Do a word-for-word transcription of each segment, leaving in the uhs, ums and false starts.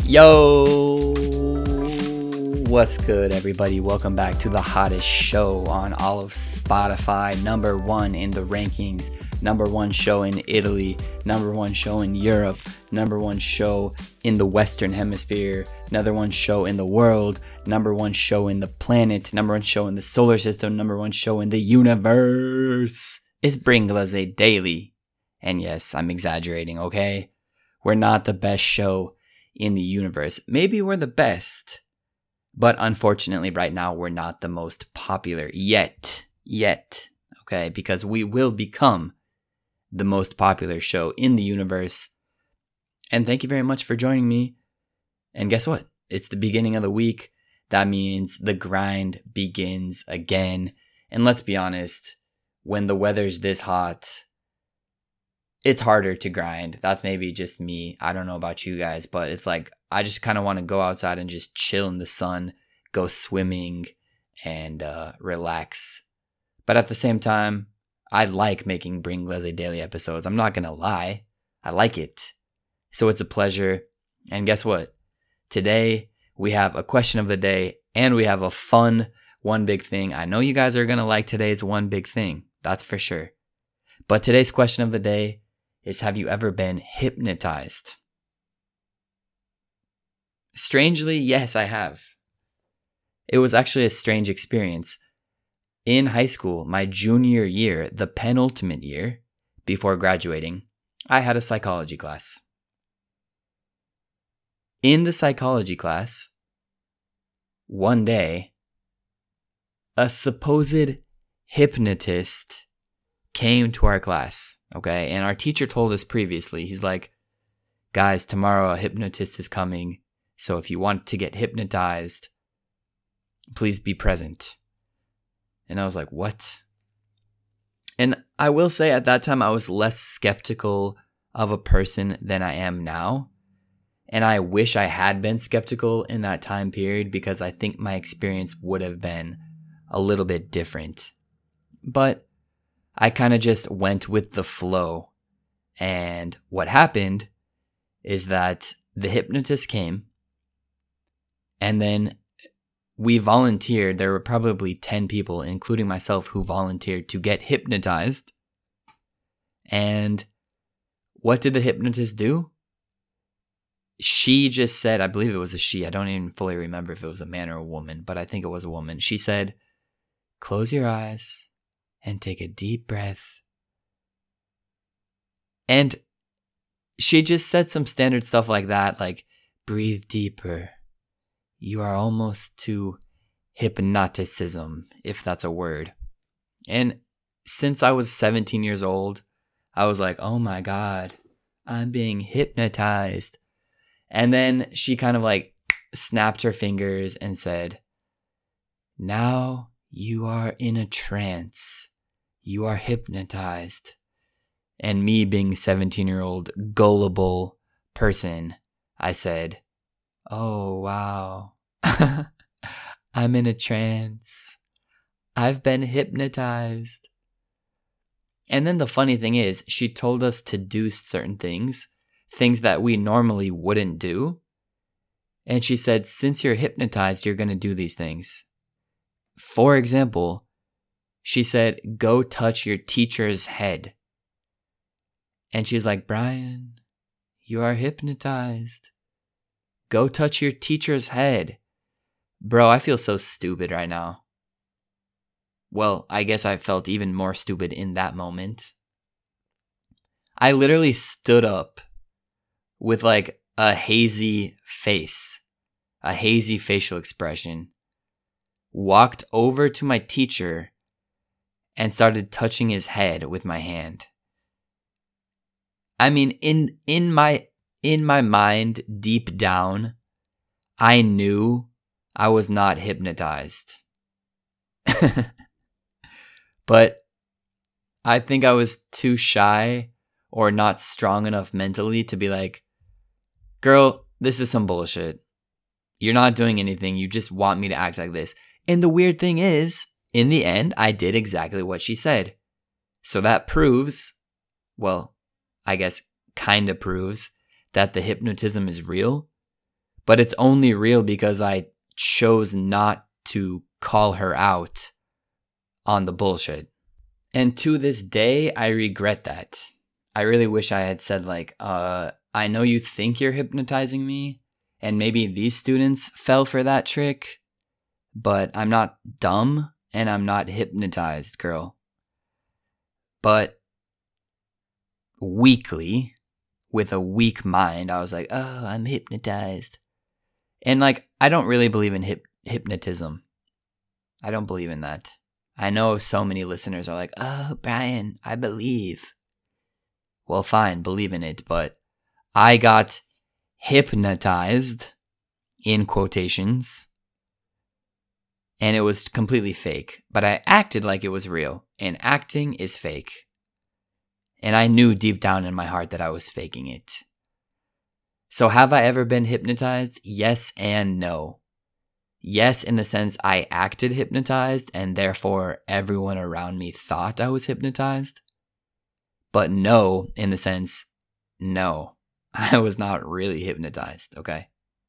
Yo, what's good, everybody? Welcome back to the hottest show on all of Spotify. Number one in the rankings, number one show in Italy, number one show in Europe, number one show in the Western Hemisphere, number one show in the world, number one show in the planet, number one show in the solar system, number one show in the universe. It's Bringlese Daily. And yes, I'm exaggerating, okay? We're not the best show in the universe. Maybe we're the best, but unfortunately right now we're not the most popular yet. Yet, okay? Because we will become the most popular show in the universe. And thank you very much for joining me. And guess what? It's the beginning of the week. That means the grind begins again. And let's be honest, when the weather's this hot, it's harder to grind. That's maybe just me. I don't know about you guys, but it's like I just kind of want to go outside and just chill in the sun, go swimming, and uh, relax. But at the same time, I like making Bringlese Daily episodes. I'm not going to lie. I like it. So it's a pleasure. And guess what? Today, we have a question of the day, and we have a fun one big thing. I know you guys are going to like today's one big thing. That's for sure. But today's question of the day is, have you ever been hypnotized? Strangely, yes, I have. It was actually a strange experience. In high school, my junior year, the penultimate year before graduating, I had a psychology class. In the psychology class, one day, a supposed hypnotist came to our class, okay? And our teacher told us previously, he's like, guys, tomorrow a hypnotist is coming. So if you want to get hypnotized, please be present. And I was like, what? And I will say at that time, I was less skeptical of a person than I am now. And I wish I had been skeptical in that time period because I think my experience would have been a little bit different. But I kind of just went with the flow. And what happened is that the hypnotist came, and then we volunteered. There were probably ten people, including myself, who volunteered to get hypnotized. And what did the hypnotist do? She just said, I believe it was a she. I don't even fully remember if it was a man or a woman, but I think it was a woman. She said, close your eyes and take a deep breath. And she just said some standard stuff like that, like, breathe deeper. You are almost to hypnoticism, if that's a word. And since I was seventeen years old, I was like, oh my God, I'm being hypnotized. And then she kind of like snapped her fingers and said, now you are in a trance. You are hypnotized. And me being seventeen-year-old gullible person, I said, oh, wow. I'm in a trance. I've been hypnotized. And then the funny thing is, she told us to do certain things, things that we normally wouldn't do. And she said, since you're hypnotized, you're going to do these things. For example, she said, go touch your teacher's head. And she's like, Brian, you are hypnotized. Go touch your teacher's head. Bro, I feel so stupid right now. Well, I guess I felt even more stupid in that moment. I literally stood up with like a hazy face, a hazy facial expression, walked over to my teacher and started touching his head with my hand. I mean, in in my in my mind, deep down, I knew I was not hypnotized. But I think I was too shy or not strong enough mentally to be like, girl, this is some bullshit. You're not doing anything. You just want me to act like this. And the weird thing is, in the end, I did exactly what she said. So that proves, well, I guess kind of proves that the hypnotism is real. But it's only real because I chose not to call her out on the bullshit. And to this day, I regret that. I really wish I had said like, uh, I know you think you're hypnotizing me, and maybe these students fell for that trick, but I'm not dumb and I'm not hypnotized, girl. But weakly, with a weak mind, I was like, oh, I'm hypnotized. And like, I don't really believe in hip- hypnotism. I don't believe in that. I know so many listeners are like, oh, Brian, I believe. Well, fine, believe in it, but I got hypnotized, in quotations, and it was completely fake. But I acted like it was real, and acting is fake. And I knew deep down in my heart that I was faking it. So have I ever been hypnotized? Yes and no. Yes, in the sense I acted hypnotized, and therefore everyone around me thought I was hypnotized. But no, in the sense, no, I was not really hypnotized, okay?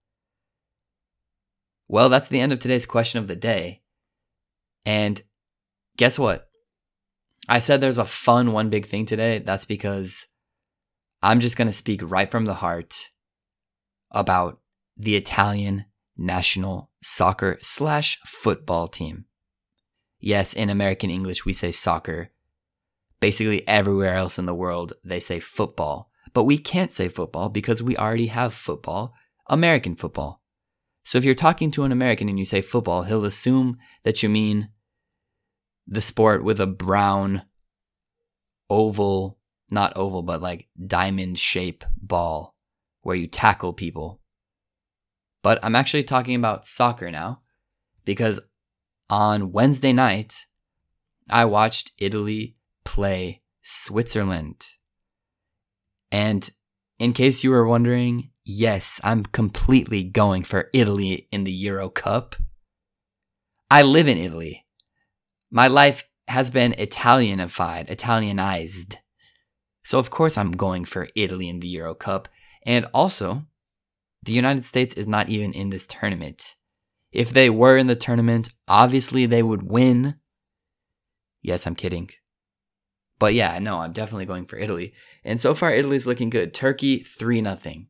Well, that's the end of today's question of the day. And guess what? I said there's a fun one big thing today. That's because I'm just going to speak right from the heart about the Italian national soccer slash football team. Yes, in American English, we say soccer. Basically, everywhere else in the world, they say football. But we can't say football because we already have football, American football. So if you're talking to an American and you say football, he'll assume that you mean the sport with a brown oval, not oval, but like diamond shape ball where you tackle people. But I'm actually talking about soccer now because on Wednesday night, I watched Italy play Switzerland. And in case you were wondering, yes, I'm completely going for Italy in the Euro Cup. I live in Italy. My life has been Italianified, Italianized. So of course I'm going for Italy in the Euro Cup. And also, the United States is not even in this tournament. If they were in the tournament, obviously they would win. Yes, I'm kidding. But yeah, no, I'm definitely going for Italy. And so far, Italy's looking good. Turkey, three nothing.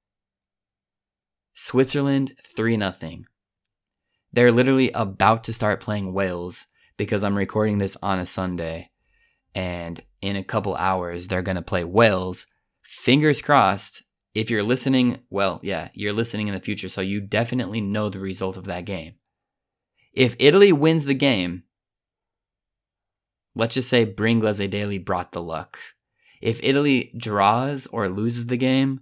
Switzerland, three nothing. They're literally about to start playing Wales because I'm recording this on a Sunday. And in a couple hours, they're going to play Wales. Fingers crossed. If you're listening, well, yeah, you're listening in the future, so you definitely know the result of that game. If Italy wins the game, let's just say Bringlese Daily brought the luck. If Italy draws or loses the game,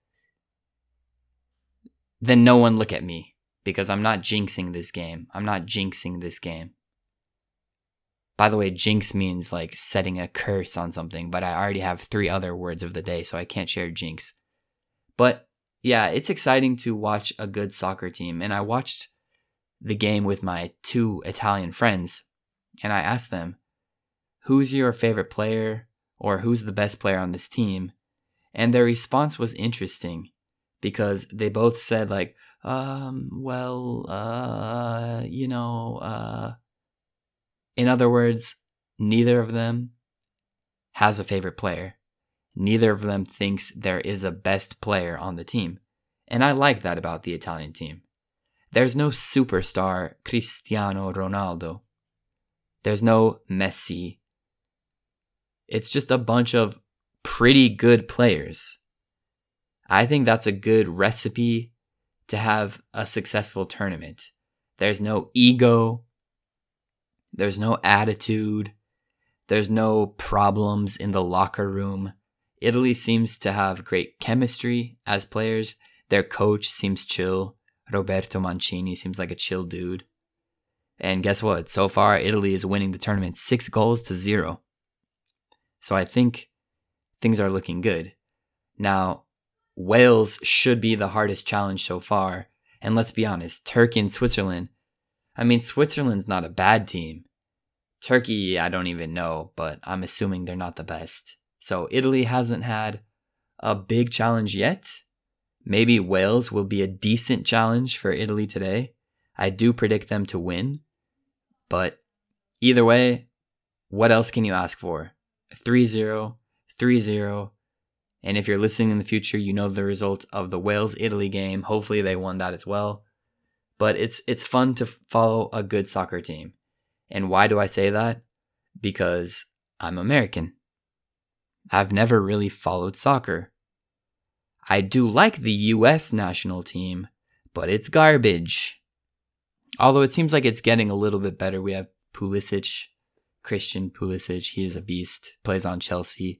then no one look at me because I'm not jinxing this game. I'm not jinxing this game. By the way, jinx means like setting a curse on something, but I already have three other words of the day, so I can't share jinx. But yeah, it's exciting to watch a good soccer team. And I watched the game with my two Italian friends, and I asked them, who's your favorite player or who's the best player on this team? And their response was interesting because they both said like, um, well, uh, you know, uh, in other words, neither of them has a favorite player. Neither of them thinks there is a best player on the team. And I like that about the Italian team. There's no superstar Cristiano Ronaldo. There's no Messi. It's just a bunch of pretty good players. I think that's a good recipe to have a successful tournament. There's no ego. There's no attitude. There's no problems in the locker room. Italy seems to have great chemistry as players. Their coach seems chill. Roberto Mancini seems like a chill dude. And guess what? So far, Italy is winning the tournament six goals to zero. So I think things are looking good. Now, Wales should be the hardest challenge so far. And let's be honest, Turkey and Switzerland. I mean, Switzerland's not a bad team. Turkey, I don't even know, but I'm assuming they're not the best. So Italy hasn't had a big challenge yet. Maybe Wales will be a decent challenge for Italy today. I do predict them to win. But either way, what else can you ask for? three zero, three zero. And if you're listening in the future, you know the result of the Wales-Italy game. Hopefully they won that as well. But it's it's fun to follow a good soccer team. And why do I say that? Because I'm American. I've never really followed soccer. I do like the U S national team, but it's garbage. Although it seems like it's getting a little bit better. We have Pulisic, Christian Pulisic. He is a beast. Plays on Chelsea.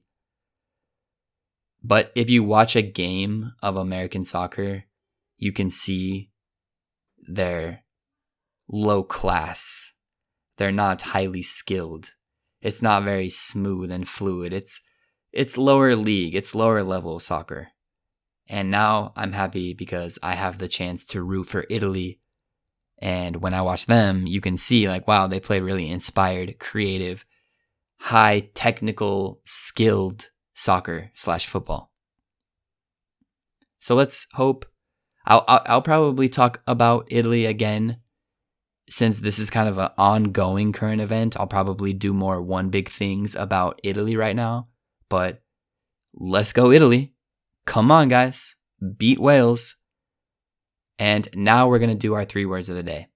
But if you watch a game of American soccer, you can see they're low class. They're not highly skilled. It's not very smooth and fluid. It's it's lower league. It's lower level soccer. And now I'm happy because I have the chance to root for Italy. And when I watch them, you can see like, wow, they play really inspired, creative, high technical, skilled soccer slash football. So let's hope. I'll, I'll I'll probably talk about Italy again, since this is kind of an ongoing current event. I'll probably do more one big things about Italy right now. But let's go Italy. Come on, guys. Beat Wales. And now we're going to do our three words of the day.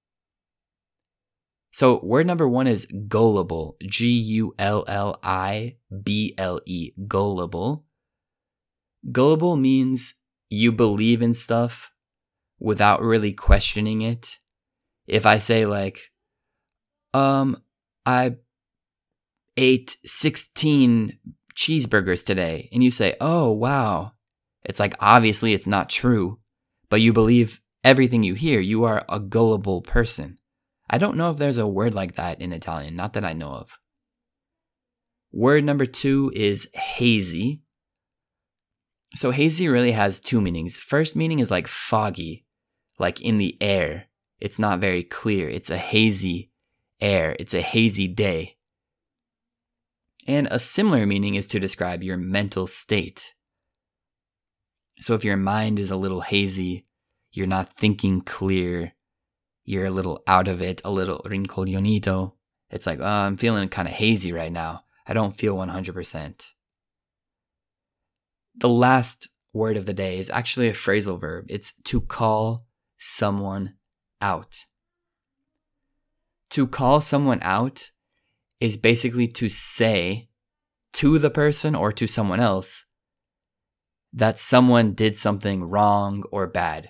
So word number one is gullible. G U L L I B L E. Gullible. Gullible means you believe in stuff without really questioning it. If I say like, um, I ate sixteen cheeseburgers today, and you say, oh, wow. It's like, obviously it's not true, but you believe everything you hear. You are a gullible person. I don't know if there's a word like that in Italian, not that I know of. Word number two is hazy. So hazy really has two meanings. First meaning is like foggy, like in the air. It's not very clear. It's a hazy air. It's a hazy day. And a similar meaning is to describe your mental state. So if your mind is a little hazy, you're not thinking clear, you're a little out of it, a little rincoglionito. It's like, oh, I'm feeling kind of hazy right now. I don't feel one hundred percent. The last word of the day is actually a phrasal verb. It's to call someone out. To call someone out is basically to say to the person or to someone else that someone did something wrong or bad.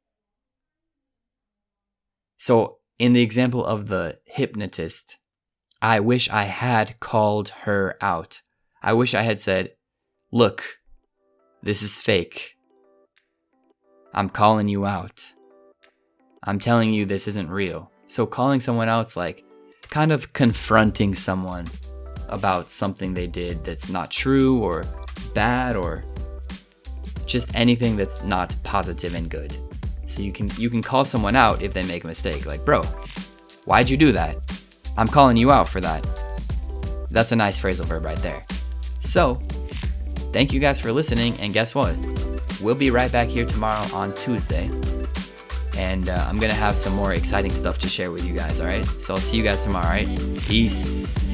So in the example of the hypnotist, I wish I had called her out. I wish I had said, look, this is fake. I'm calling you out. I'm telling you this isn't real. So calling someone out's like kind of confronting someone about something they did that's not true or bad or just anything that's not positive and good. So you can you can call someone out if they make a mistake. Like, bro, why'd you do that? I'm calling you out for that. That's a nice phrasal verb right there. So, thank you guys for listening. And guess what? We'll be right back here tomorrow on Tuesday. And uh, I'm going to have some more exciting stuff to share with you guys, all right? So I'll see you guys tomorrow, all right? Peace.